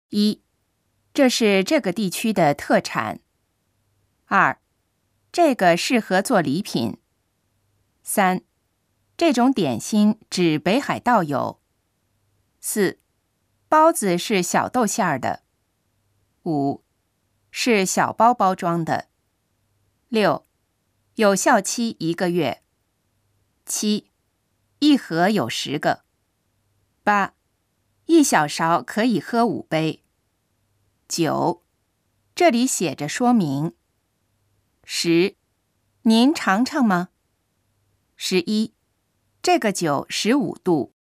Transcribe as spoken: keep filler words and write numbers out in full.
一，这是这个地区的特产。二，这个适合做礼品。三，这种点心只北海道有。四，包子是小豆馅儿的。五，是小包包装的。六，有效期一个月。七，一盒有十个。八，一小勺可以喝五杯。九，这里写着说明。十，您尝尝吗？十一，这个酒十五度。